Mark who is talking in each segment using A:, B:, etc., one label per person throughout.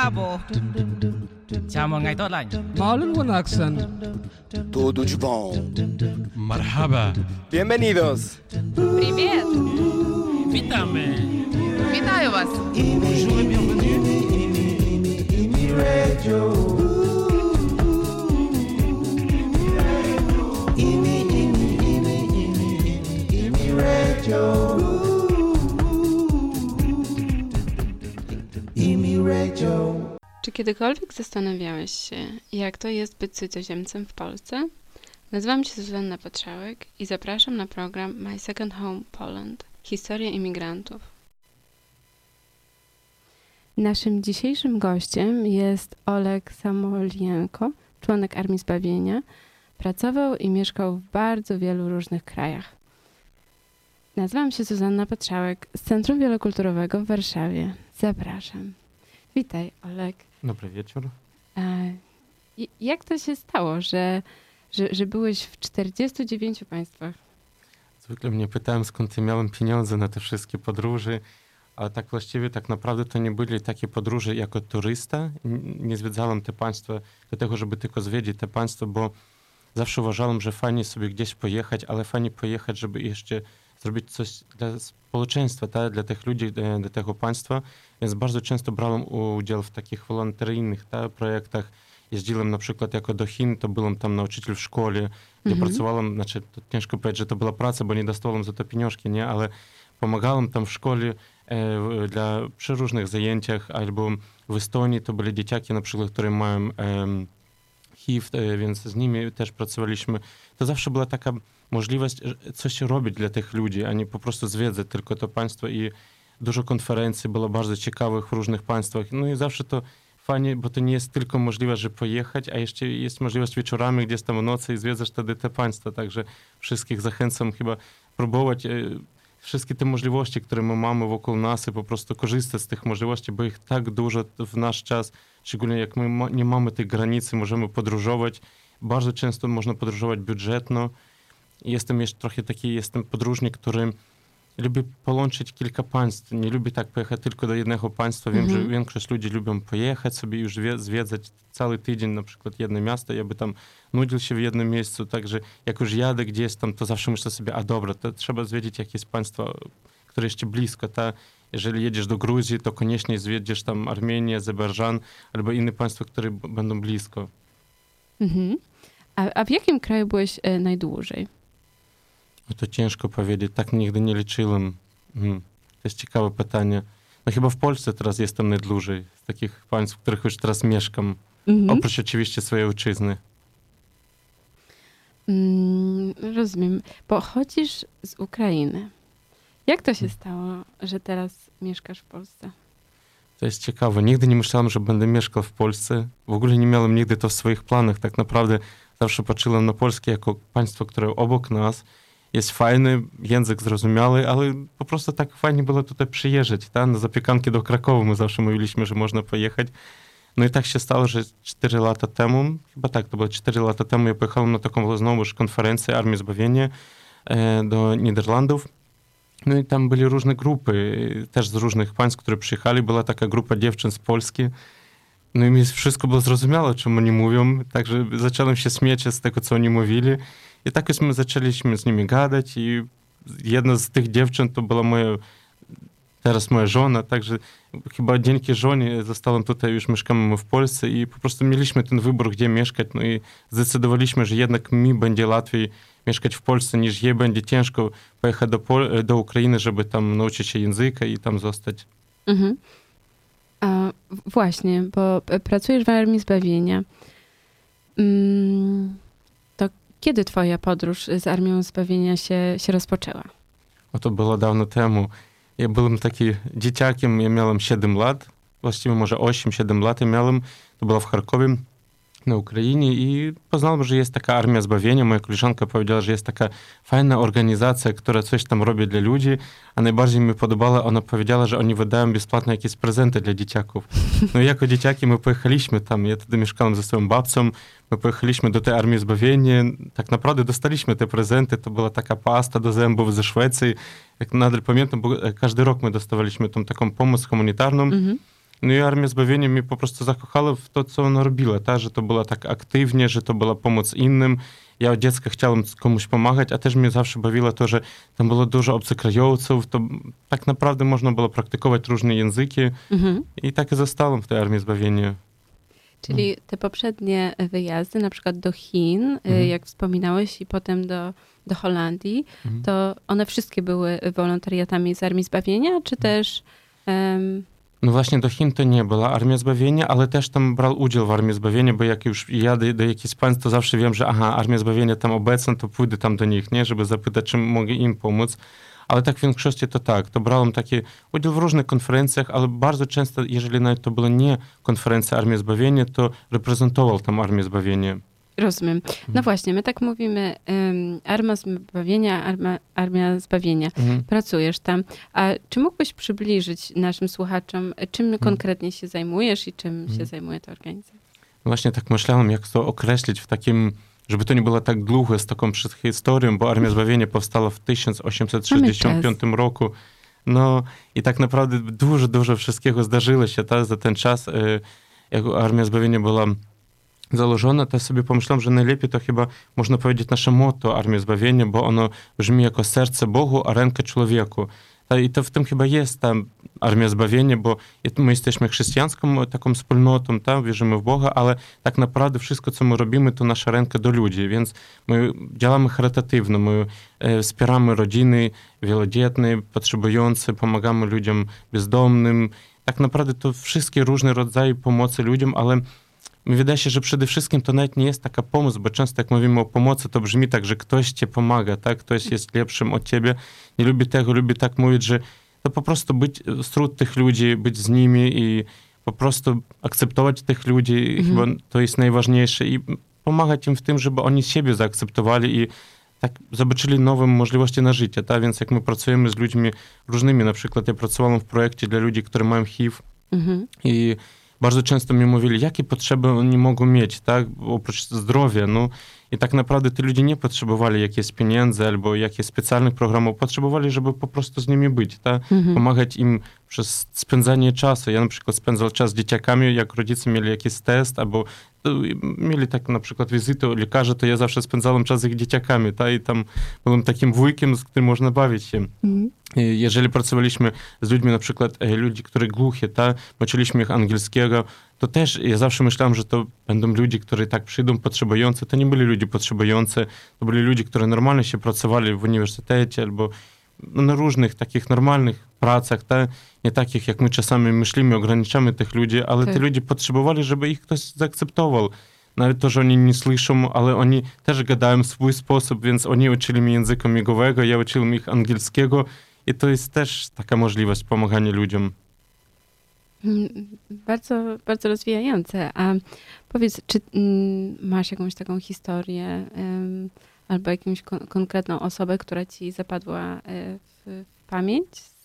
A: Bravo. Chào mừng ngày tốt lành.
B: Maalin wanaagsan.
C: Tudo de bom.
D: Marhaba.
C: Bienvenidos.
E: Привет!
A: Witamy.
E: Вітаю вас!
A: Bonjour et bienvenue.
F: Czy kiedykolwiek zastanawiałeś się, jak to jest być cudzoziemcem w Polsce? Nazywam się Zuzanna Patrzałek i zapraszam na program My Second Home Poland – Historia imigrantów. Naszym dzisiejszym gościem jest Oleg Samolienko, członek Armii Zbawienia. Pracował i mieszkał w bardzo wielu różnych krajach. Nazywam się Zuzanna Patrzałek z Centrum Wielokulturowego w Warszawie. Zapraszam. Witaj, Oleg.
D: Dobry wieczór.
F: Jak to się stało, że byłeś w 49 państwach?
D: Zwykle mnie pytałem, skąd ja miałem pieniądze na te wszystkie podróże, ale tak właściwie, tak naprawdę to nie byli takie podróże jako turysta. Nie zwiedzałem te państwa dlatego, żeby tylko zwiedzić te państwa, bo zawsze uważałem, że fajnie sobie gdzieś pojechać, ale fajnie pojechać, żeby jeszcze zrobić coś dla społeczeństwa, tak? Dla tych ludzi, dla tego państwa. Więc bardzo często brałem udział w takich wolontaryjnych projektach. Jeździłem na przykład jako do Chin, to byłem tam nauczyciel w szkole, gdzie pracowałem, znaczy to ciężko powiedzieć, że to była praca, bo nie dostałem za to pieniążki, nie? Ale pomagałem tam w szkole przy różnych zajęciach, albo w Estonii to byli dzieciaki na przykład, które mają HIV, więc z nimi też pracowaliśmy. To zawsze była taka możliwość coś robić dla tych ludzi, a nie po prostu zwiedzać tylko to państwo i dużo konferencji było bardzo ciekawych w różnych państwach. No i zawsze to fajnie, bo to nie jest tylko możliwość, że pojechać, a jeszcze jest możliwość wieczorami, gdzieś tam w nocy i zwiedzasz wtedy te państwa. Także wszystkich zachęcam chyba próbować wszystkie te możliwości, które my mamy wokół nas i po prostu korzystać z tych możliwości, bo ich tak dużo w nasz czas, szczególnie jak my nie mamy tej granicy, możemy podróżować. Bardzo często można podróżować budżetno. Jestem jeszcze trochę taki, jestem podróżnik, który lubi połączyć kilka państw. Nie lubi tak pojechać tylko do jednego państwa. Wiem, że większość ludzi lubią pojechać sobie już zwiedzać cały tydzień, na przykład jedno miasto, ja by tam nudził się w jednym miejscu. Także jak już jadę gdzieś tam, to zawsze myślę sobie, a dobra, to trzeba zwiedzić jakieś państwo, które jeszcze blisko. Jeżeli jedziesz do Gruzji, to koniecznie zwiedzisz tam Armenię, Azerbejdżan albo inne państwa, które będą blisko.
F: A w jakim kraju byłeś najdłużej?
D: To ciężko powiedzieć, tak nigdy nie liczyłem. To jest ciekawe pytanie. No chyba w Polsce teraz jestem najdłużej z takich państw, w których już teraz mieszkam. Oprócz oczywiście swojej ojczyzny.
F: Rozumiem. Pochodzisz z Ukrainy. Jak to się stało, że teraz mieszkasz w Polsce?
D: To jest ciekawe. Nigdy nie myślałem, że będę mieszkał w Polsce. W ogóle nie miałem nigdy to w swoich planach. Tak naprawdę zawsze patrzyłem na Polskę jako państwo, które obok nas. Jest fajny, język zrozumiały, ale po prostu tak fajnie było tutaj przyjeżdżać. Na zapiekanki do Krakowa my zawsze mówiliśmy, że można pojechać. No i tak się stało, że 4 lata temu, chyba tak, to było 4 lata temu, ja pojechałem na taką znowuż konferencję Armii Zbawienia do Niderlandów. No i tam byli różne grupy, też z różnych państw, które przyjechali. Była taka grupa dziewczyn z Polski. No i mi wszystko było zrozumiałe, czym oni mówią. Także zacząłem się śmiać z tego, co oni mówili. I tak już my zaczęliśmy z nimi gadać i jedna z tych dziewczyn to była teraz moja żona, także chyba dzięki żonie zostałem tutaj, już mieszkamy w Polsce i po prostu mieliśmy ten wybór, gdzie mieszkać, no i zdecydowaliśmy, że jednak mi będzie łatwiej mieszkać w Polsce, niż jej będzie ciężko pojechać do Ukrainy, żeby tam nauczyć się języka i tam zostać.
F: Właśnie, bo pracujesz w Armii Zbawienia. Kiedy twoja podróż z Armią Zbawienia się rozpoczęła?
D: To było dawno temu. Ja byłem taki dzieciakiem, ja miałem 7 lat, właściwie może 8-7 lat ja miałem. To było w Charkowie na Ukrainie i poznałem, że jest taka Armia Zbawienia. Moja koleżanka powiedziała, że jest taka fajna organizacja, która coś tam robi dla ludzi, a najbardziej mi podobała, ona powiedziała, że oni wydają bezpłatne jakieś prezenty dla dzieciaków. No i jako dzieciaki my pojechaliśmy tam, ja wtedy mieszkałem ze swoją babcią, my pojechaliśmy do tej Armii Zbawienia, tak naprawdę dostaliśmy te prezenty, to była taka pasta do zębów ze Szwecji, jak nadal pamiętam, bo każdy rok my dostawaliśmy tą taką pomoc humanitarną. No i Armia Zbawienia mnie po prostu zakochała w to, co ona robiła, ta, że to było tak aktywnie, że to była pomoc innym. Ja od dziecka chciałem komuś pomagać, a też mnie zawsze bawiło to, że tam było dużo obcokrajowców, to tak naprawdę można było praktykować różne języki i tak i zostałem w tej Armii Zbawienia.
F: Czyli te poprzednie wyjazdy, na przykład do Chin, jak wspominałeś, i potem do Holandii, to one wszystkie były wolontariatami z Armii Zbawienia, czy też...
D: No właśnie do Chin to nie była Armia Zbawienia, ale też tam brał udział w Armii Zbawienia, bo jak już jadę do jakichś państw, to zawsze wiem, że Armia Zbawienia tam obecna, to pójdę tam do nich, nie, żeby zapytać, czym mogę im pomóc. Ale tak w większości to tak, to brałem taki udział w różnych konferencjach, ale bardzo często, jeżeli nawet to była nie konferencja Armii Zbawienia, to reprezentował tam Armię Zbawienia.
F: Rozumiem. No właśnie, my tak mówimy, Armia Zbawienia. Pracujesz tam. A czy mógłbyś przybliżyć naszym słuchaczom, czym konkretnie się zajmujesz i czym się zajmuje ta organizacja?
D: Właśnie tak myślałem, jak to określić w takim, żeby to nie było tak długo z taką historią, bo Armia Zbawienia powstała w 1865 roku. No i tak naprawdę dużo wszystkiego zdarzyło się za ten czas, jak Armia Zbawienia była założona, to sobie pomyślałem, że najlepiej to chyba można powiedzieć nasze motto Armii Zbawienia, bo ono brzmi jako serce Bogu, a ręka człowieku. I to w tym chyba jest ta Armia Zbawienia, bo my jesteśmy chrześcijańską taką wspólnotą, wierzymy w Boga, ale tak naprawdę wszystko, co my robimy, to nasza ręka do ludzi, więc my działamy charytatywnie, my wspieramy rodziny wielodzietne, potrzebujące, pomagamy ludziom bezdomnym. Tak naprawdę to wszystkie różne rodzaje pomocy ludziom, ale mi wydaje się, że przede wszystkim to nawet nie jest taka pomoc, bo często jak mówimy o pomocy, to brzmi tak, że ktoś ci pomaga, tak? Ktoś jest lepszym od ciebie. Nie lubię tego, lubię tak mówić, że to po prostu być wśród tych ludzi, być z nimi i po prostu akceptować tych ludzi. Chyba to jest najważniejsze i pomagać im w tym, żeby oni siebie zaakceptowali i tak zobaczyli nowe możliwości na życie, tak? Więc jak my pracujemy z ludźmi różnymi, na przykład ja pracowałem w projekcie dla ludzi, którzy mają HIV i bardzo często mi mówili, jakie potrzeby oni mogą mieć, tak, oprócz zdrowia, no i tak naprawdę ci ludzie nie potrzebowali jakichś pieniędzy albo jakichś specjalnych programów, potrzebowali, żeby po prostu z nimi być, tak, pomagać im przez spędzanie czasu. Ja na przykład spędzał czas z dzieciakami, jak rodzice mieli jakiś test albo mieli tak na przykład wizytę u lekarza, to ja zawsze spędzałem czas z ich dzieciakami, tak, i tam byłem takim wujkiem, z którym można bawić się. Jeżeli pracowaliśmy z ludźmi, na przykład ludzi, którzy głuchi, tak, uczyliśmy ich angielskiego, to też ja zawsze myślałem, że to będą ludzie, którzy tak przyjdą potrzebujący. To nie byli ludzie potrzebujący, to byli ludzie, którzy normalnie się pracowali w uniwersytecie albo na różnych takich normalnych pracach, tak, nie takich, jak my czasami myślimy, ograniczamy tych ludzi, ale te ludzie potrzebowali, żeby ich ktoś zaakceptował. Nawet to, że oni nie słyszą, ale oni też gadają w swój sposób, więc oni uczyli mnie języka migowego, ja uczyłem ich angielskiego i to jest też taka możliwość pomagania ludziom.
F: Bardzo, bardzo rozwijające. A powiedz, czy masz jakąś taką historię albo jakąś konkretną osobę, która ci zapadła w pamięć?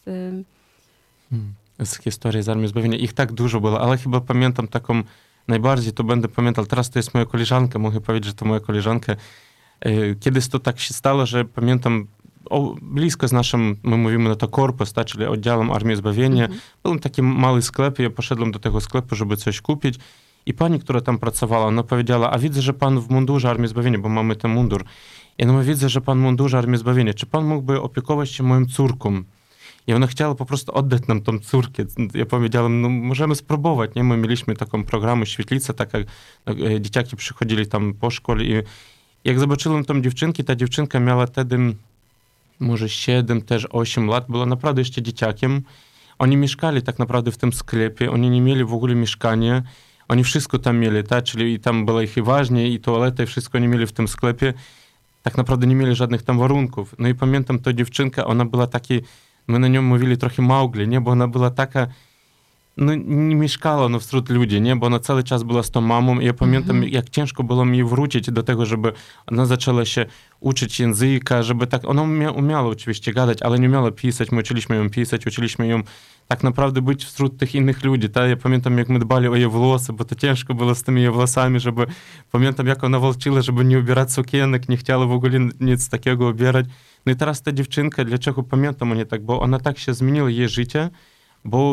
D: Z historii z Armii Zbawienia. Ich tak dużo było, ale chyba pamiętam taką najbardziej, to będę pamiętał. Teraz to jest moja koleżanka, mogę powiedzieć, że to moja koleżanka. Kiedyś to tak się stało, że pamiętam blisko z naszym, my mówimy na to korpus, tak, czyli oddziałem Armii Zbawienia. Był taki mały sklep, ja poszedłem do tego sklepu, żeby coś kupić i pani, która tam pracowała, ona powiedziała, a widzę, że pan w mundurze Armii Zbawienia, bo mamy ten mundur. I ona mówi, widzę, że pan w mundurze Armii Zbawienia, czy pan mógłby opiekować się moją córką? I ona chciała po prostu oddać nam tą córkę. Ja powiedziałem, no możemy spróbować, nie? My mieliśmy taką programę Świetlica, tak jak dzieciaki przychodzili tam po szkole i jak zobaczyłem tą dziewczynkę, ta dziewczynka miała wtedy może 7, też 8 lat, była naprawdę jeszcze dzieciakiem. Oni mieszkali tak naprawdę w tym sklepie, oni nie mieli w ogóle mieszkania, oni wszystko tam mieli, tak? Czyli tam była ich ważnie i toaleta i wszystko oni mieli w tym sklepie. Tak naprawdę nie mieli żadnych tam warunków. No i pamiętam, ta dziewczynka, ona była taki, my na nią mówili trochę Mauгли, nie? Bo ona była taka, no nie mieszkała no, wśród ludzi, nie? Bo ona cały czas była z tą mamą i ja pamiętam, jak ciężko było mi wrócić do tego, żeby ona zaczęła się uczyć języka, żeby tak, ona umiała oczywiście gadać, ale nie umiała pisać, my uczyliśmy ją pisać, uczyliśmy ją tak naprawdę być wśród tych innych ludzi, tak? Ja pamiętam, jak my dbali o jej włosy, bo to ciężko było z tymi jej włosami, żeby, pamiętam, jak ona walczyła, żeby nie ubierać sukienek, nie chciała w ogóle nic takiego ubierać. No i teraz ta dziewczynka, dlaczego pamiętam o niej tak, bo ona tak się zmieniła jej życie, bo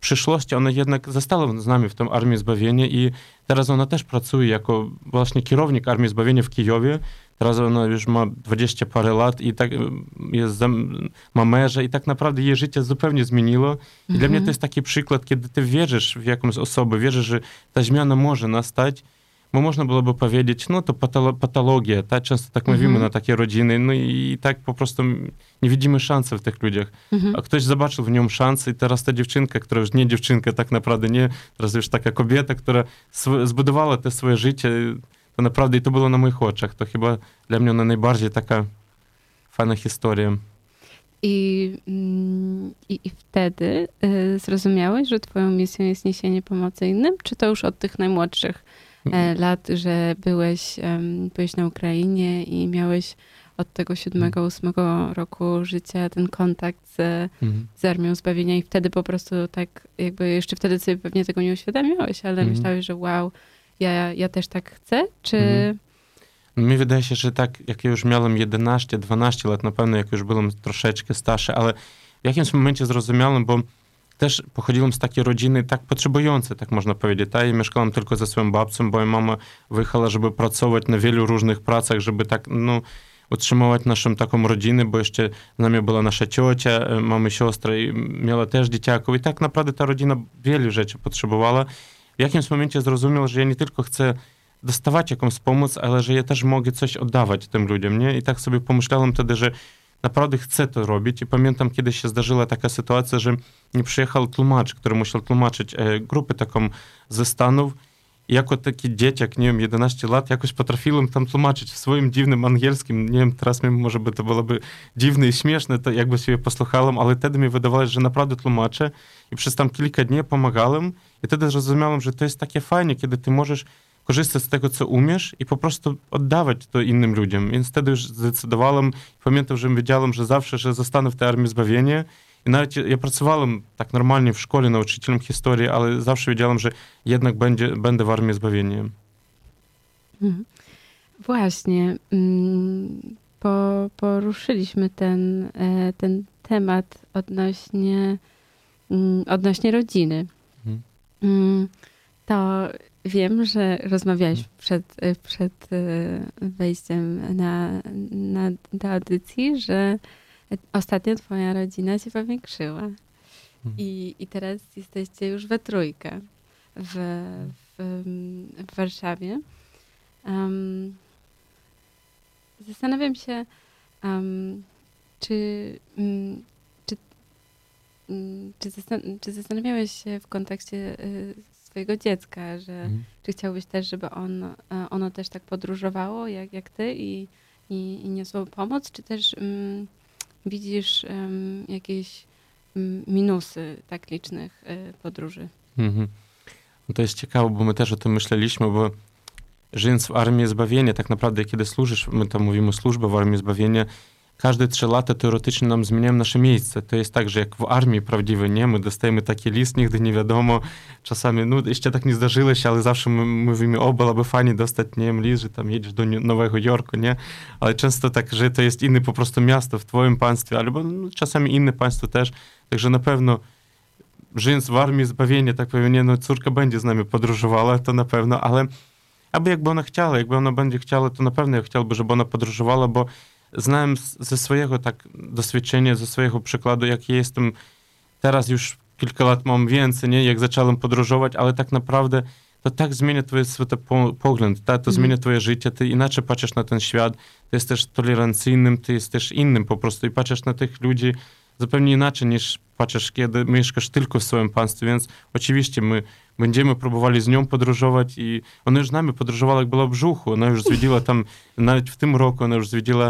D: przyszłości ona jednak została z nami w tym Armii Zbawienia i teraz ona też pracuje jako właśnie kierownik Armii Zbawienia w Kijowie. Teraz ona już ma 20 parę lat i tak ma męża i tak naprawdę jej życie zupełnie zmieniło. I dla mnie to jest taki przykład, kiedy ty wierzysz w jakąś osobę, wierzysz, że ta zmiana może nastać, bo można byłoby powiedzieć, no to patologia, tak? Często tak mówimy na takie rodziny, no i tak po prostu nie widzimy szansy w tych ludziach. A ktoś zobaczył w nią szansę i teraz ta dziewczynka, która już nie dziewczynka tak naprawdę, nie, teraz już taka kobieta, która zbudowała te swoje życie, to naprawdę i to było na moich oczach. To chyba dla mnie ona najbardziej taka fajna historia.
F: I wtedy zrozumiałeś, że twoją misją jest niesienie pomocy innym? Czy to już od tych najmłodszych lat, że byłeś na Ukrainie i miałeś od tego 7-8 roku życia ten kontakt z Armią Zbawienia i wtedy po prostu tak jakby, jeszcze wtedy sobie pewnie tego nie uświadamiałeś, ale myślałeś, że wow, ja też tak chcę, czy...
D: Mi wydaje się, że tak, jak ja już miałem 11-12 lat, na pewno jak już byłem troszeczkę starszy, ale w jakimś momencie zrozumiałem, bo też pochodziłem z takiej rodziny tak potrzebującej, tak można powiedzieć. Ja mieszkałem tylko ze swoją babcią, bo moja mama wyjechała, żeby pracować na wielu różnych pracach, żeby tak, no, utrzymywać naszą taką rodzinę, bo jeszcze z nami była nasza ciocia, mamy siostrę i miała też dzieciaków i tak naprawdę ta rodzina wielu rzeczy potrzebowała. W jakimś momencie zrozumiał, że ja nie tylko chcę dostawać jakąś pomoc, ale że ja też mogę coś oddawać tym ludziom, nie? I tak sobie pomyślałem wtedy, że naprawdę chcę to robić i pamiętam, kiedy się zdarzyła taka sytuacja, że nie przyjechał tłumacz, który musiał tłumaczyć grupę taką ze Stanów. I jako taki dzieciak, nie wiem, 11 lat, jakoś potrafiłem tam tłumaczyć w swoim dziwnym angielskim. Nie wiem, teraz może by to byłoby dziwne i śmieszne, to jakby sobie posłuchałem, ale wtedy mi wydawało, że naprawdę tłumaczę i przez tam kilka dni pomagałem i wtedy zrozumiałem, że to jest takie fajnie, kiedy ty możesz korzystać z tego, co umiesz i po prostu oddawać to innym ludziom. Więc wtedy już zdecydowałem, pamiętam, że wiedziałem, że zawsze, że zostanę w tej Armii Zbawienia. I nawet ja pracowałem tak normalnie w szkole nauczycielem historii, ale zawsze wiedziałem, że jednak będę w Armii Zbawienia.
F: Właśnie. Poruszyliśmy ten temat odnośnie rodziny. To wiem, że rozmawiałeś przed wejściem do audycji, że ostatnio twoja rodzina się powiększyła. I teraz jesteście już we trójkę w Warszawie. Zastanawiam się, czy zastanawiałeś się w kontekście swojego dziecka, że czy chciałbyś też, żeby ono też tak podróżowało jak ty i niosło pomoc, czy też widzisz jakieś minusy tak licznych podróży?
D: To jest ciekawe, bo my też o tym myśleliśmy, bo żyjąc w Armii Zbawienia, tak naprawdę kiedy służysz, my tam mówimy służba w Armii Zbawienia, każde 3 lata teoretycznie nam zmieniają nasze miejsce. To jest tak, że jak w armii prawdziwej, nie? My dostajemy taki list, nigdy nie wiadomo. Czasami, no jeszcze tak nie zdarzyło się, ale zawsze my mówimy, byłoby fajnie dostać, nie wiem, list, że tam jedziesz do Nowego Jorku, nie? Ale często tak, że to jest inne po prostu miasto w twoim państwie, albo czasami inne państwo też. Także na pewno żyjąc w Armii Zbawienia, tak powiem, nie, no córka będzie z nami podróżowała, to na pewno, ale jakby ona chciała, jakby ona będzie chciała, to na pewno ja chciałbym, żeby ona podróżowała, bo znałem ze swojego tak doświadczenia, ze swojego przykładu, jak ja jestem teraz już kilka lat mam więcej, nie, jak zacząłem podróżować, ale tak naprawdę to tak zmienia twój światopogląd, to zmienia twoje życie, ty inaczej patrzysz na ten świat, ty jesteś tolerancyjnym, ty jesteś innym po prostu i patrzysz na tych ludzi zupełnie inaczej niż patrzysz, kiedy mieszkasz tylko w swoim państwie, więc oczywiście my będziemy próbowali z nią podróżować i ona już z nami podróżowała, jak była w brzuchu, ona już zwiedziła tam, nawet w tym roku ona już zwiedziła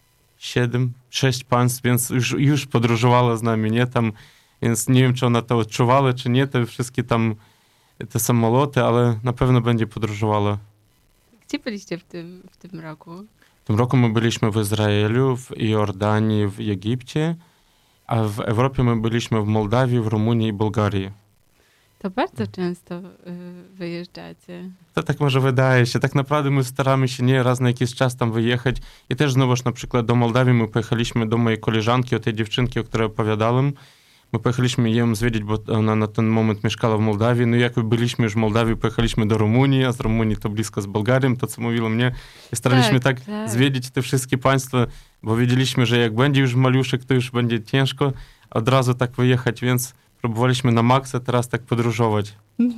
D: 6 państw, więc już podróżowała z nami, nie, tam, więc nie wiem, czy ona to odczuwała, czy nie, te wszystkie tam, te samoloty, ale na pewno będzie podróżowała.
F: Gdzie byliście w tym roku?
D: W tym roku my byliśmy w Izraelu, w Jordanii, w Egipcie, a w Europie my byliśmy w Mołdawii, w Rumunii i Bułgarii.
F: To bardzo często wyjeżdżacie.
D: To tak może wydaje się. Tak naprawdę my staramy się nie raz na jakiś czas tam wyjechać. I też znowuż na przykład do Mołdawii my pojechaliśmy do mojej koleżanki, o tej dziewczynki, o której opowiadałem. My pojechaliśmy ją zwiedzić, bo ona na ten moment mieszkała w Mołdawii. No jak byliśmy już w Mołdawii, pojechaliśmy do Rumunii, a z Rumunii to blisko z Bułgarią, to co mówiło mnie. I staraliśmy tak zwiedzić te wszystkie państwa, bo wiedzieliśmy, że jak będzie już maluszek, to już będzie ciężko od razu tak wyjechać, więc próbowaliśmy na maksa teraz tak podróżować.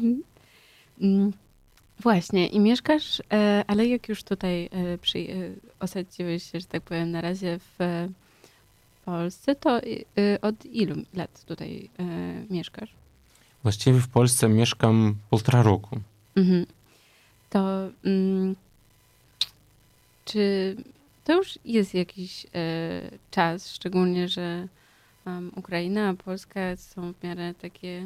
F: Właśnie, i mieszkasz, ale jak już tutaj osadziłeś się, że tak powiem, na razie w Polsce, to od ilu lat tutaj mieszkasz?
D: Właściwie w Polsce mieszkam 1,5 roku.
F: To czy to już jest jakiś czas, szczególnie, że Ukraina a Polska są w miarę takie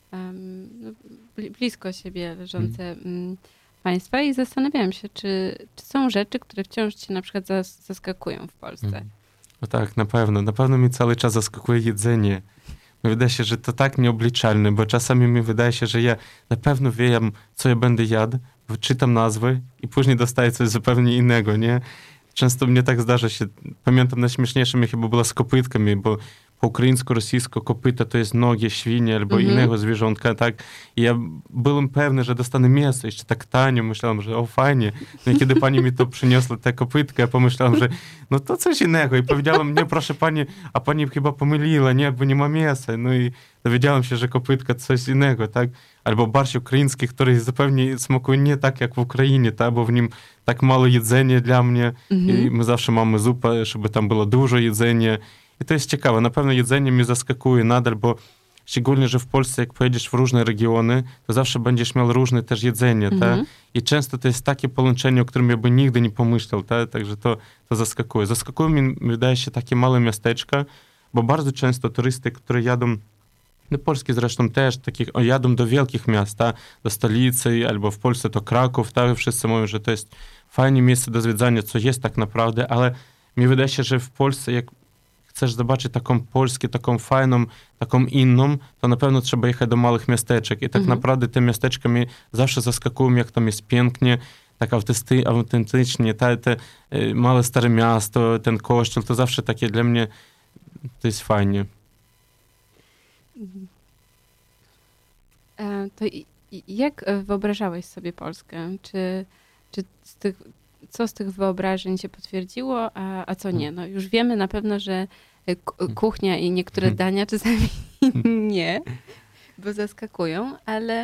F: blisko siebie leżące państwa i zastanawiałam się, czy są rzeczy, które wciąż cię na przykład zaskakują w Polsce.
D: No tak, na pewno. Na pewno mi cały czas zaskakuje jedzenie. Wydaje się, że to tak nieobliczalne, bo czasami mi wydaje się, że ja na pewno wiem, co ja będę jadł, czytam nazwy i później dostaję coś zupełnie innego, nie? Często mnie tak zdarza się. Pamiętam, najśmieszniejsze mi chyba było z kopytkami, bo po ukraińsku, rosyjsku kopyta to jest nogi świni albo innego zwierzątka, tak? I ja byłem pewny, że dostanę mięso, jeszcze tak tanio, myślałem, że o fajnie. No i kiedy pani mi to przyniosła, tę kopytkę, ja pomyślałem, że no to coś innego. I powiedziałem, nie, proszę pani, a pani chyba pomyliła, nie, bo nie ma mięsa. No i dowiedziałem się, że kopytka to coś innego, tak? Albo barszcz ukraiński, który zupełnie smakuje nie tak, jak w Ukrainie, tak? Bo w nim tak mało jedzenia dla mnie. I my zawsze mamy zupę, żeby tam było dużo jedzenia. I to jest ciekawe. Na pewno jedzenie mnie zaskakuje nadal, bo szczególnie, że w Polsce, jak pojedziesz w różne regiony, to zawsze będziesz miał różne też jedzenie, tak? I często to jest takie połączenie, o którym ja bym nigdy nie pomyślał, tak? Także to zaskakuje. Zaskakuje mi, wydaje się, takie małe miasteczka, bo bardzo często turysty, które jadą, no polskie zresztą też, jadą do wielkich miast, tak? Do stolicy, albo w Polsce to Kraków, tak? Wszyscy mówią, że to jest fajne miejsce do zwiedzania, co jest tak naprawdę, ale mi wydaje się, że w Polsce, jak chcesz zobaczyć taką Polskę, taką fajną, taką inną, to na pewno trzeba jechać do małych miasteczek. I tak naprawdę te miasteczka mnie zawsze zaskakują, jak tam jest pięknie, tak autentycznie, te małe stare miasto, ten kościół, to zawsze takie dla mnie, to jest fajnie.
F: To jak wyobrażałeś sobie Polskę? Czy co z tych wyobrażeń się potwierdziło, a co nie? No już wiemy na pewno, że kuchnia i niektóre dania czasami nie, bo zaskakują, ale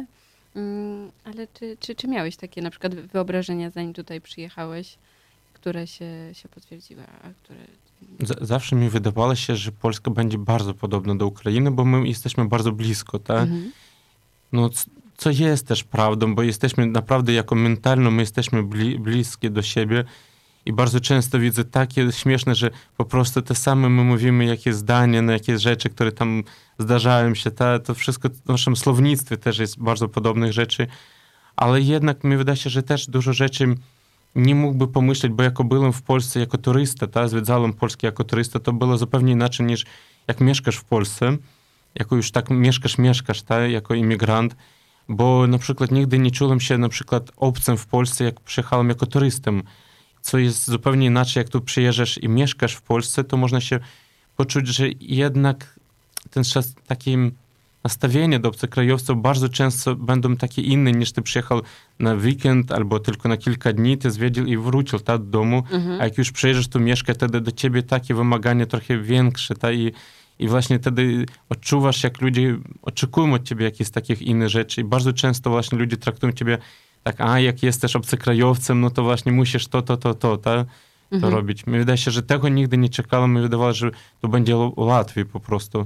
F: czy miałeś takie na przykład wyobrażenia, zanim tutaj przyjechałeś, które się potwierdziły, a które...
D: Zawsze mi wydawało się, że Polska będzie bardzo podobna do Ukrainy, bo my jesteśmy bardzo blisko, tak? No, co jest też prawdą, bo jesteśmy naprawdę jako mentalno, my jesteśmy bliskie do siebie i bardzo często widzę takie śmieszne, że po prostu te same my mówimy, jakie zdania, na jakieś rzeczy, które tam zdarzają się, to wszystko w naszym słownictwie też jest bardzo podobnych rzeczy, ale jednak mi wydaje się, że też dużo rzeczy nie mógłby pomyśleć, bo jako byłem w Polsce jako turysta, zwiedzałem Polskę jako turysta, to było zupełnie inaczej niż jak mieszkasz w Polsce, jako już tak mieszkasz, jako imigrant, bo na przykład nigdy nie czułem się na przykład obcym w Polsce, jak przyjechałem jako turystą, co jest zupełnie inaczej, jak tu przyjeżdżasz i mieszkasz w Polsce, to można się poczuć, że jednak ten takie nastawienie do obcokrajowców bardzo często będą takie inne, niż ty przyjechał na weekend albo tylko na kilka dni, ty zwiedził i wrócił do domu, a jak już przyjeżdżasz tu mieszkać, wtedy do ciebie takie wymagania trochę większe, i właśnie wtedy odczuwasz, jak ludzie oczekują od ciebie jakichś takich innych rzeczy. I bardzo często właśnie ludzie traktują ciebie tak, jak jesteś obcokrajowcem, no to właśnie musisz to robić. Mi wydaje się, że tego nigdy nie czekałem. Mi wydawało, że to będzie łatwiej po prostu.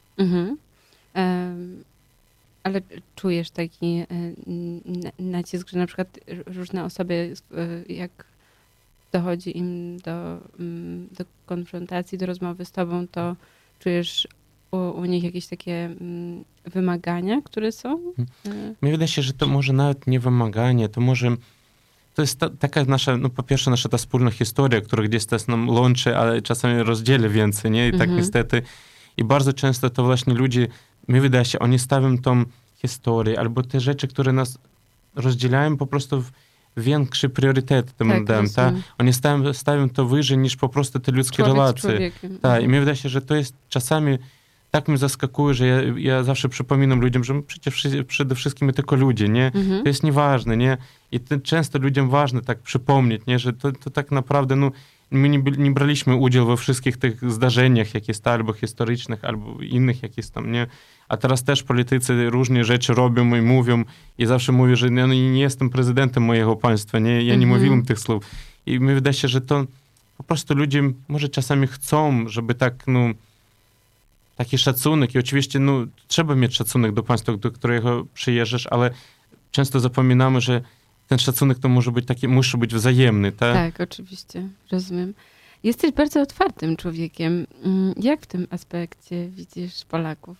F: Ale czujesz taki nacisk, że na przykład różne osoby, jak dochodzi im do konfrontacji, do rozmowy z tobą, to czujesz u nich jakieś takie wymagania, które są?
D: Mi wydaje się, że to może nawet nie wymaganie, to jest taka nasza, no po pierwsze nasza ta wspólna historia, która gdzieś też nam łączy, ale czasami rozdzieli więcej, nie? I tak niestety. I bardzo często to właśnie ludzie, mi wydaje się, oni stawią tą historię albo te rzeczy, które nas rozdzielają, po prostu większy priorytet tym nadają, tak? Oni stawią to wyżej niż po prostu te ludzkie relacje. Tak, i mi wydaje się, że to jest czasami tak mnie zaskakuje, że ja zawsze przypominam ludziom, że przecież przede wszystkim my tylko ludzie, nie? To jest nieważne, nie? I często ludziom ważne tak przypomnieć, nie? Że to tak naprawdę, no, my nie braliśmy udziału we wszystkich tych zdarzeniach, jakie są albo historycznych, albo innych jakichś tam, nie? A teraz też politycy różne rzeczy robią i mówią i zawsze mówią, że ja nie jestem prezydentem mojego państwa, nie? Ja nie mówiłem tych słów. I mi wydaje się, że to po prostu ludzie może czasami chcą, żeby tak, no, taki szacunek i oczywiście, no, trzeba mieć szacunek do państwa, do którego przyjeżdżasz, ale często zapominamy, że ten szacunek to może być taki, musi być wzajemny, tak?
F: Tak, oczywiście, rozumiem. Jesteś bardzo otwartym człowiekiem. Jak w tym aspekcie widzisz Polaków?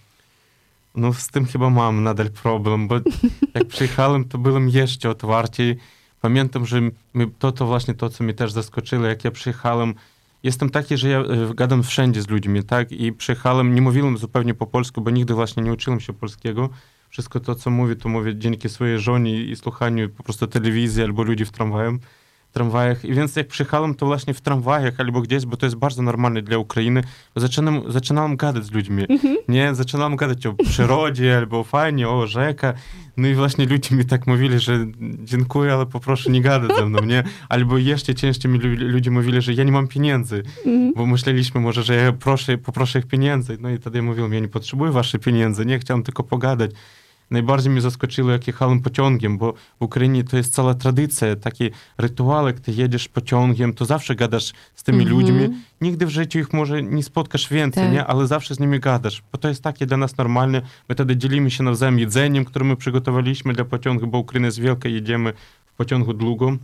D: No z tym chyba mam nadal problem, bo jak przyjechałem, to byłem jeszcze otwarciej. Pamiętam, że to właśnie to, co mnie też zaskoczyło, jak ja przyjechałem. Jestem taki, że ja gadam wszędzie z ludźmi, tak? I przyjechałem, nie mówiłem zupełnie po polsku, bo nigdy właśnie nie uczyłem się polskiego. Wszystko to, co mówię, to mówię dzięki swojej żonie i słuchaniu po prostu telewizji albo ludzi w tramwajach. I więc jak przyjechałem, to właśnie w tramwajach albo gdzieś, bo to jest bardzo normalne dla Ukrainy, zaczynałem gadać z ludźmi. Nie? Zaczynałem gadać o przyrodzie albo o fajnie, o rzeka. No i właśnie ludzie mi tak mówili, że dziękuję, ale poproszę nie gadać ze mną, nie? Albo jeszcze częściej mi ludzie mówili, że ja nie mam pieniędzy, bo myśleliśmy może, że ja poproszę ich pieniędzy. No i wtedy ja mówiłem, ja nie potrzebuję waszych pieniędzy, nie? Chciałem tylko pogadać. Najbardziej mnie zaskoczyło, jak jechałem pociągiem, bo w Ukrainie to jest cała tradycja, taki rytuał, jak ty jedziesz pociągiem, to zawsze gadasz z tymi ludźmi. Nigdy w życiu ich może nie spotkasz więcej, nie? Ale zawsze z nimi gadasz, bo to jest takie dla nas normalne. My wtedy dzielimy się nawzajem jedzeniem, które my przygotowaliśmy dla pociągu, bo Ukraina jest wielka, jedziemy w pociągu długo.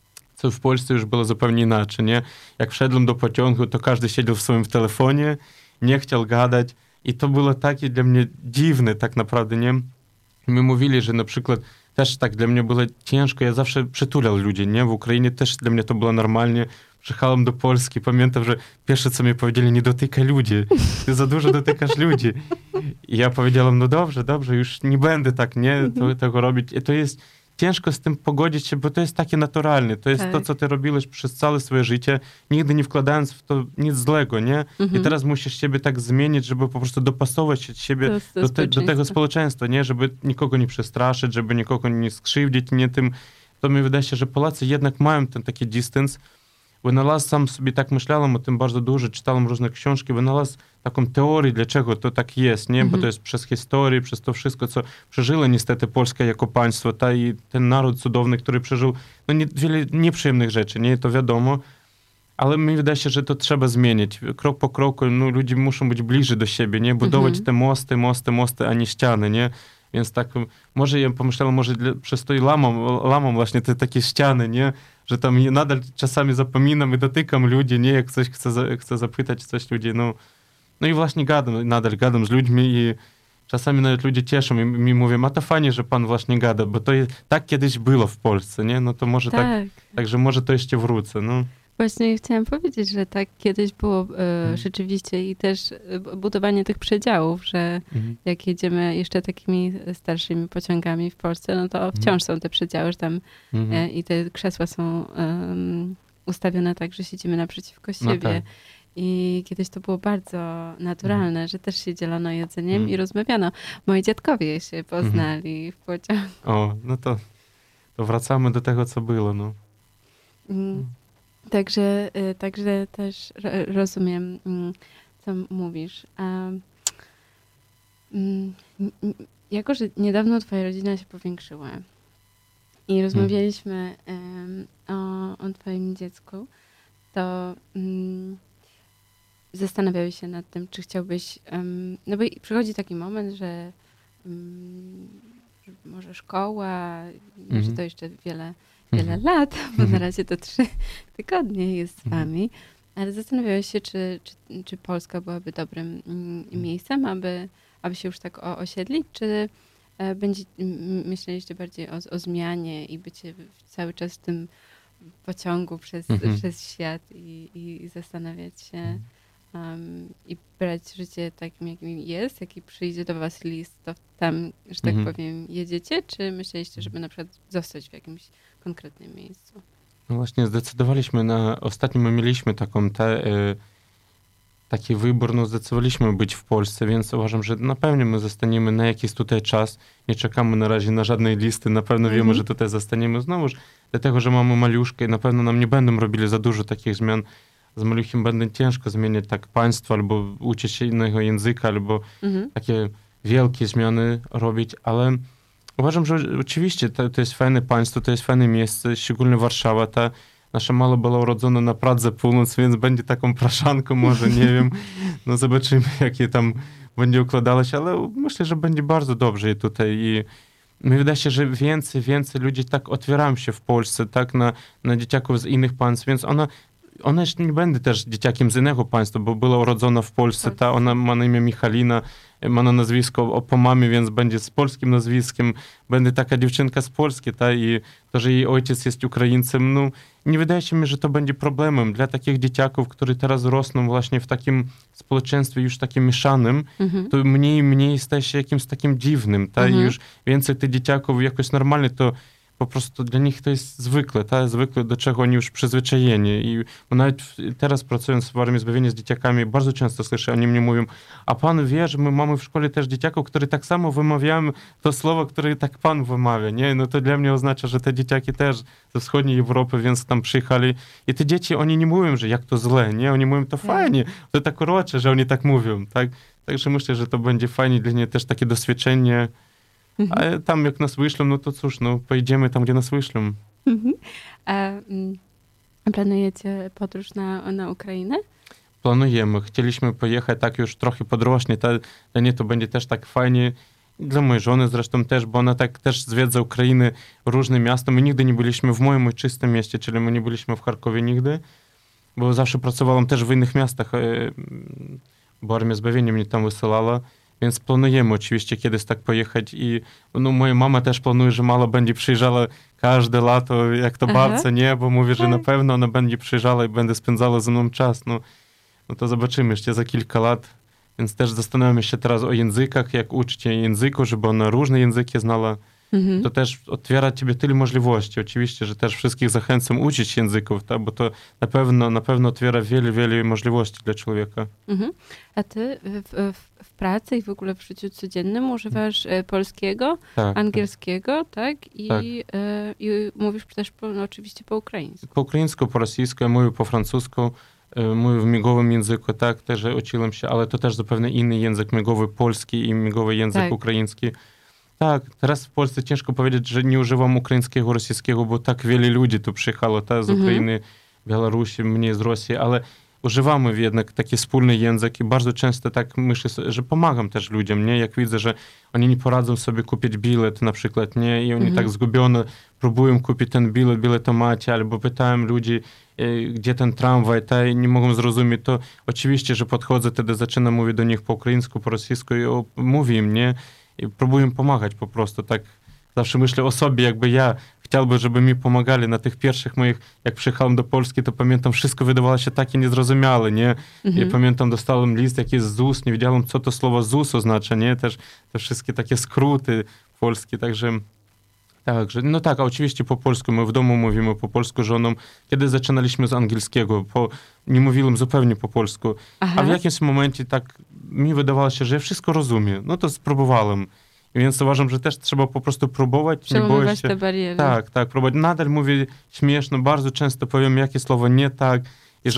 D: Co w Polsce już było zupełnie inaczej, nie? Jak wszedłem do pociągu, to każdy siedział w swoim telefonie, nie chciał gadać i to było takie dla mnie dziwne tak naprawdę, nie? My mówili, że na przykład też tak dla mnie było ciężko, ja zawsze przytulał ludzi, nie? W Ukrainie też dla mnie to było normalnie. Przyjechałem do Polski, pamiętam, że pierwsze co mi powiedzieli, nie dotykaj ludzi, ty za dużo dotykasz ludzi. I ja powiedziałem, no dobrze, już nie będę tak, nie? Tego robić. I to jest ciężko z tym pogodzić się, bo to jest takie naturalne. To jest to, co ty robiłeś przez całe swoje życie, nigdy nie wkładając w to nic złego, nie? I teraz musisz siebie tak zmienić, żeby po prostu dopasować siebie do tego społeczeństwa, nie? Żeby nikogo nie przestraszyć, żeby nikogo nie skrzywdzić, nie tym. To mi wydaje się, że Polacy jednak mają ten taki dystans. Wynalazł sam sobie tak myślałem o tym bardzo dużo, czytałem różne książki, wynalazł taką teorię, dlaczego to tak jest, nie? Bo to jest przez historię, przez to wszystko, co przeżyło niestety Polska jako państwo, i ten naród cudowny, który przeżył no, wiele nieprzyjemnych rzeczy, nie? To wiadomo, ale mi wydaje się, że to trzeba zmienić. Krok po kroku, no, ludzie muszą być bliżej do siebie, nie? Budować te mosty, a nie ściany, nie? Więc tak, może ja pomyślałem, może przez to i lamą właśnie te takie ściany, nie? Że tam nadal czasami zapominam i dotykam ludzi, nie? Jak ktoś chce zapytać coś ludzi, no i właśnie nadal gadam z ludźmi i czasami nawet ludzie cieszą i mi mówią, a to fajnie, że pan właśnie gada, bo to tak kiedyś było w Polsce, nie? No to może także może to jeszcze wrócę, no.
F: Właśnie chciałam powiedzieć, że tak kiedyś było rzeczywiście i też budowanie tych przedziałów, że jak jedziemy jeszcze takimi starszymi pociągami w Polsce, no to wciąż są te przedziały, że tam i te krzesła są ustawione tak, że siedzimy naprzeciwko siebie. No tak. I kiedyś to było bardzo naturalne, że też się dzielono jedzeniem i rozmawiano. Moi dziadkowie się poznali w pociągu.
D: O, no to wracamy do tego, co było, no.
F: Także też rozumiem, co mówisz. Jako, że niedawno twoja rodzina się powiększyła i rozmawialiśmy o twoim dziecku, to zastanawiałeś się nad tym, czy chciałbyś... no bo przychodzi taki moment, że może szkoła, że to jeszcze wiele lat, bo na razie to 3 tygodnie jest z wami, ale zastanawiałeś się, czy Polska byłaby dobrym miejscem, aby się już tak osiedlić, czy myśleliście bardziej o zmianie i bycie cały czas w tym pociągu przez świat i zastanawiać się i brać życie takim, jakim jest, jaki przyjdzie do was list, to tam, że tak powiem, jedziecie, czy myśleliście, żeby na przykład zostać w jakimś konkretnym miejscu?
D: No właśnie zdecydowaliśmy ostatnio my mieliśmy taką taki wybór, no zdecydowaliśmy być w Polsce, więc uważam, że na pewno my zostaniemy na jakiś tutaj czas. Nie czekamy na razie na żadnej listy, na pewno wiemy, że tutaj zostaniemy znowuż, dlatego, że mamy maluszkę i na pewno nam nie będą robili za dużo takich zmian. Z maluchem będzie ciężko zmieniać tak państwo, albo uczyć się innego języka, albo takie wielkie zmiany robić, ale uważam, że oczywiście to jest fajne państwo, to jest fajne miejsce, szczególnie Warszawa. Ta nasza mała była urodzona na Pradze Północ, więc będzie taką praszanką, może, nie wiem. No zobaczymy, jakie tam będzie układało się, ale myślę, że będzie bardzo dobrze tutaj i mi wydaje się, że więcej ludzi tak otwierają się w Polsce, tak, na dzieciaków z innych państw, więc ona jeszcze nie będzie też dzieciakiem z innego państwa, bo była urodzona w Polsce, ta, ona ma na imię Michalina, ma na nazwisko po mamie, więc będzie z polskim nazwiskiem, będzie taka dziewczynka z Polski, ta, i to, że jej ojciec jest Ukraińcem, no nie wydaje się mi, że to będzie problemem dla takich dzieciaków, które teraz rosną właśnie w takim społeczeństwie już takim mieszanym, to mniej staje się jakimś takim dziwnym, ta, i już więcej tych dzieciaków jakoś normalnie to po prostu dla nich to jest zwykle, do czego oni już przyzwyczajeni. I nawet teraz pracując w Armii Zbawienia z dzieciakami, bardzo często słyszę, oni mnie mówią, a pan wie, że my mamy w szkole też dzieciaków, które tak samo wymawiają to słowo, które tak pan wymawia, nie? No to dla mnie oznacza, że te dzieciaki też ze wschodniej Europy, więc tam przyjechali. I te dzieci, oni nie mówią, że jak to źle, nie? Oni mówią, to fajnie, to tak urocze, że oni tak mówią, tak? Także myślę, że to będzie fajnie dla nich też takie doświadczenie. A tam jak nas wyślą, no to cóż, no pojedziemy tam, gdzie nas wyślą.
F: A planujecie podróż na Ukrainę?
D: Planujemy. Chcieliśmy pojechać, tak już trochę podrośnie. Dla niej to będzie też tak fajnie. Dla mojej żony zresztą też, bo ona tak też zwiedza Ukrainę, różne miasta. My nigdy nie byliśmy w moim ojczystym mieście, czyli my nie byliśmy w Charkowie nigdy, bo zawsze pracowałam też w innych miastach, bo Armia Zbawienia mnie tam wysyłała. Więc planujemy oczywiście kiedyś tak pojechać i no, moja mama też planuje, że mała będzie przyjeżdżała każde lato, jak to babcia, nie? Bo mówi, że na pewno ona będzie przyjeżdżała i będzie spędzała ze mną czas. No to zobaczymy jeszcze za kilka lat. Więc też zastanawiamy się teraz o językach, jak uczyć jej języku, żeby ona różne języki znała. To też otwiera ciebie tyle możliwości. Oczywiście, że też wszystkich zachęcam uczyć języków, tak? Bo to na pewno otwiera wiele możliwości dla człowieka.
F: A ty w pracy i w ogóle w życiu codziennym używasz polskiego, angielskiego, tak? I mówisz też oczywiście po ukraińsku.
D: Po ukraińsku, po rosyjsku, ja mówię po francusku, mówię w migowym języku, tak, też uczyłem się, ale to też zupełnie inny język migowy polski i migowy język ukraiński. Tak, teraz w Polsce ciężko powiedzieć, że nie używam ukraińskiego, rosyjskiego, bo tak wiele ludzi tu przyjechało, z Ukrainy, Białorusi, mnie z Rosji, ale używamy jednak taki wspólny język i bardzo często tak myślę, że pomagam też ludziom, nie? Jak widzę, że oni nie poradzą sobie kupić bilet na przykład, nie? I oni tak zgubione próbują kupić ten bilet macie, albo pytają ludzi, gdzie ten tramwaj, i nie mogą zrozumieć, to oczywiście, że podchodzę, wtedy zaczynam mówić do nich po ukraińsku, po rosyjsku i mówię im, nie? I próbuję pomagać po prostu, tak zawsze myślę o sobie, jakby ja chciałbym, żeby mi pomagali na tych pierwszych moich, jak przyjechałem do Polski, to pamiętam, wszystko wydawało się takie niezrozumiałe, nie? Ja pamiętam, dostałem list jakiś z ZUS, nie wiedziałem, co to słowo ZUS oznacza, nie? Też te wszystkie takie skróty polskie, także no tak, a oczywiście po polsku, my w domu mówimy po polsku żoną. Kiedy zaczynaliśmy z angielskiego, nie mówiłem zupełnie po polsku, a w jakimś momencie tak mi wydawało się, że ja wszystko rozumiem. No to spróbowałem. I więc uważam, że też trzeba po prostu próbować, nie boję się.
F: Te bariery.
D: Tak, próbować. Nadal mówię śmieszno, bardzo często powiem, jakie słowo nie tak. I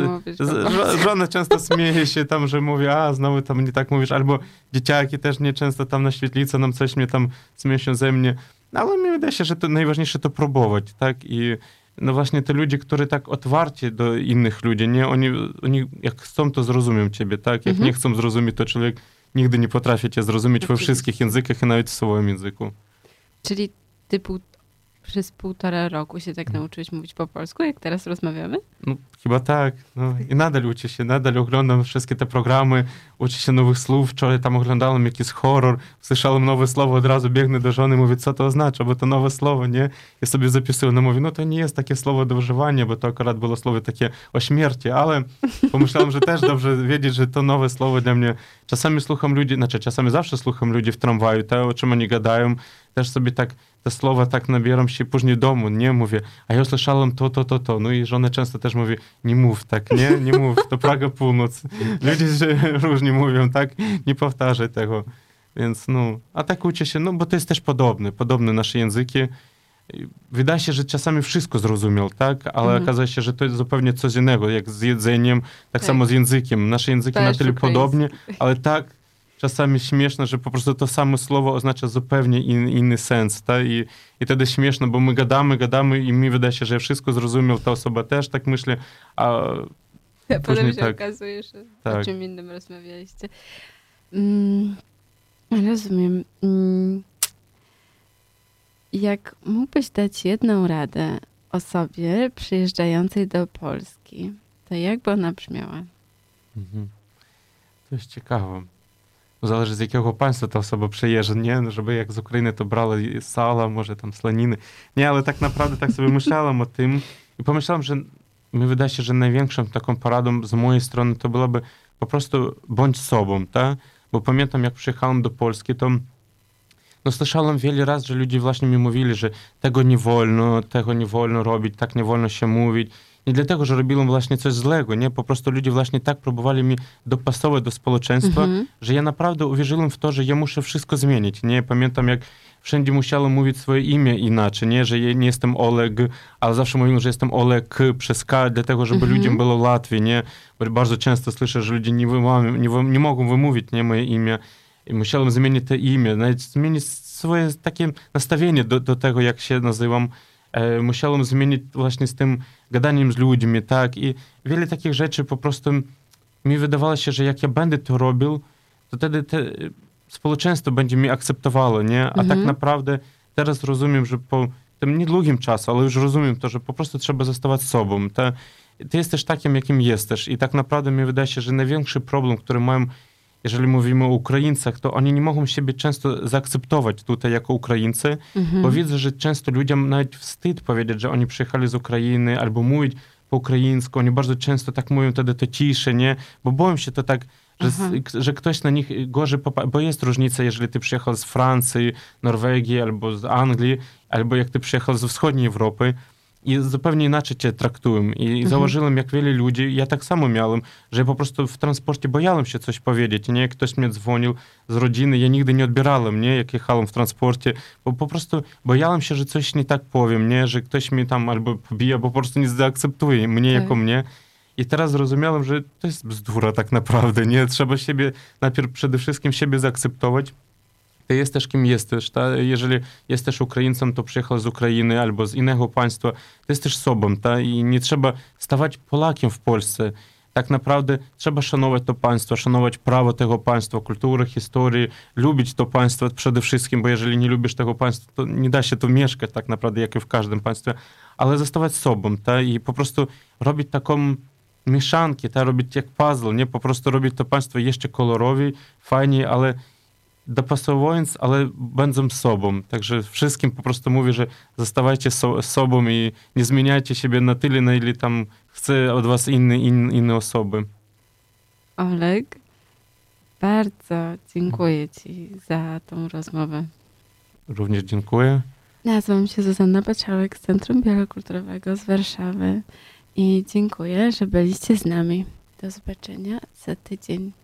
D: żona często śmieje się tam, że mówię, znowu tam nie tak mówisz, albo dzieciaki też nie często tam na świetlicy nam coś mnie tam śmieszą ze mnie. Ale mi wydaje się, że to najważniejsze to próbować, tak? I no właśnie te ludzie, które tak otwarci do innych ludzi, nie? Oni jak chcą, to zrozumią ciebie, tak? Jak nie chcą zrozumieć, to człowiek nigdy nie potrafi cię zrozumieć we wszystkich językach i nawet w swoim języku.
F: Czyli ty przez 1,5 roku się tak nauczyłeś mówić po polsku, jak teraz rozmawiamy?
D: No, chyba tak. No, i nadal uczę się, nadal oglądam wszystkie te programy, uczę się nowych słów. Wczoraj tam oglądałem jakiś horror, słyszałem nowe słowo, od razu biegnę do żony, mówię, co to oznacza, bo to nowe słowo, nie? Ja sobie zapisuję, no mówię, no to nie jest takie słowo do używania, bo to akurat było słowo takie o śmierci, ale pomyślałem, że też dobrze wiedzieć, że to nowe słowo dla mnie. Czasami zawsze słucham ludzi w tramwaju, o czym oni gadają. też sobie tak te słowa tak nabieram się później domu, nie mówię, a ja usłyszałem to. No i żona często też mówi, nie mów tak, nie mów, to Praga północ. Ludzie różnie mówią, tak, nie powtarzaj tego. Więc no, a tak uczę się, no bo to jest też podobne nasze języki. Wydaje się, że czasami wszystko zrozumiał, tak? Ale okazuje się, że to jest zupełnie coś innego, jak z jedzeniem, tak samo z językiem. Nasze języki na tyle podobnie, ale tak czasami śmieszne, że po prostu to samo słowo oznacza zupełnie inny sens, tak? I wtedy śmieszne, bo my gadamy i mi wydaje się, że wszystko zrozumiał, ta osoba też tak myśli, a
F: potem się
D: tak,
F: okazuje, że
D: tak.
F: o czym innym rozmawialiście. Rozumiem. Jak mógłbyś dać jedną radę osobie przyjeżdżającej do Polski, to jak by ona brzmiała?
D: To jest ciekawe. Zależy z jakiego państwa ta osoba przyjeżdża, nie? No, żeby jak z Ukrainy to brała sala, może tam slaniny. Nie, ale tak naprawdę tak sobie myślałem o tym i pomyślałem, że mi wydaje się, że największą taką poradą z mojej strony to byłoby po prostu bądź sobą, tak? Bo pamiętam, jak przyjechałem do Polski, to no słyszałem wiele razy, że ludzie właśnie mi mówili, że tego nie wolno robić, tak nie wolno się mówić. Nie dlatego, że robiłem właśnie coś złego, nie? Po prostu ludzie właśnie tak próbowali mi dopasować do społeczeństwa, że ja naprawdę uwierzyłem w to, że ja muszę wszystko zmienić, nie? Pamiętam, jak wszędzie musiałem mówić swoje imię inaczej, nie? Że ja nie jestem Oleg, ale zawsze mówiłem, że jestem Oleg przez K, dlatego, żeby ludziom było łatwiej, nie? Bo bardzo często słyszę, że ludzie nie mogą wymówić, nie? Moje imię. I musiałem zmienić to imię, nawet zmienić swoje takie nastawienie do tego, jak się nazywam. Musiałem zmienić właśnie z tym gadaniem z ludźmi, tak? I wiele takich rzeczy po prostu mi wydawało się, że jak ja będę to robił, to wtedy społeczeństwo będzie mnie akceptowało, nie? A tak naprawdę teraz rozumiem, że po tym niedługim czasie, ale już rozumiem to, że po prostu trzeba zostawać sobą. Ty jesteś takim, jakim jesteś. I tak naprawdę mi wydaje się, że największy problem, który mają, jeżeli mówimy o Ukraińcach, to oni nie mogą siebie często zaakceptować tutaj jako Ukraińcy, bo widzę, że często ludziom nawet wstyd powiedzieć, że oni przyjechali z Ukrainy, albo mówić po ukraińsku. Oni bardzo często tak mówią wtedy to cisze, nie? Bo boją się to tak, że ktoś na nich gorzej popatrzy, bo jest różnica, jeżeli ty przyjechał z Francji, Norwegii, albo z Anglii, albo jak ty przyjechał ze wschodniej Europy, i zupełnie inaczej cię traktują. I zauważyłem, jak wiele ludzi, ja tak samo miałem, że ja po prostu w transporcie bojałem się coś powiedzieć, nie? Ktoś mnie dzwonił z rodziny, ja nigdy nie odbierałem, nie? Jak jechałem w transporcie, bo po prostu bojałem się, że coś nie tak powiem, nie? Że ktoś mnie tam albo pobije, bo po prostu nie zaakceptuje mnie jako mnie. I teraz zrozumiałem, że to jest bzdura tak naprawdę, nie? Trzeba siebie, najpierw przede wszystkim siebie zaakceptować. Ty jesteś kim jesteś, ta? Jeżeli jesteś Ukraińcem, to przyjechał z Ukrainy albo z innego państwa, ty jesteś sobą, ta? I nie trzeba stawać Polakiem w Polsce. Tak naprawdę trzeba szanować to państwo, szanować prawo tego państwa, kulturę, historię, lubić to państwo przede wszystkim, bo jeżeli nie lubisz tego państwa, to nie da się tu mieszkać tak naprawdę, jak i w każdym państwie, ale zostawać sobą, ta? I po prostu robić taką mieszankę, ta? Robić jak puzzle, nie? Po prostu robić to państwo jeszcze kolorowiej, fajniej, ale dopasowując, ale będąc sobą. Także wszystkim po prostu mówię, że zostawajcie sobą i nie zmieniajcie siebie na tyle, na ile tam chce od was inne osoby.
F: Oleg, bardzo dziękuję ci za tą rozmowę.
D: Również dziękuję.
F: Nazywam się Zuzanna Baciałek z Centrum Biokulturowego z Warszawy i dziękuję, że byliście z nami. Do zobaczenia za tydzień.